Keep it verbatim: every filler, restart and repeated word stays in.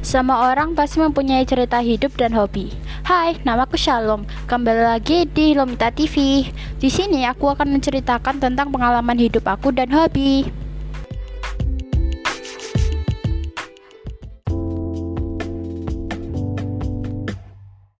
Semua orang pasti mempunyai cerita hidup dan hobi. Hai, namaku Shalom. Kembali lagi di Lomita T V. Di sini aku akan menceritakan tentang pengalaman hidup aku dan hobi.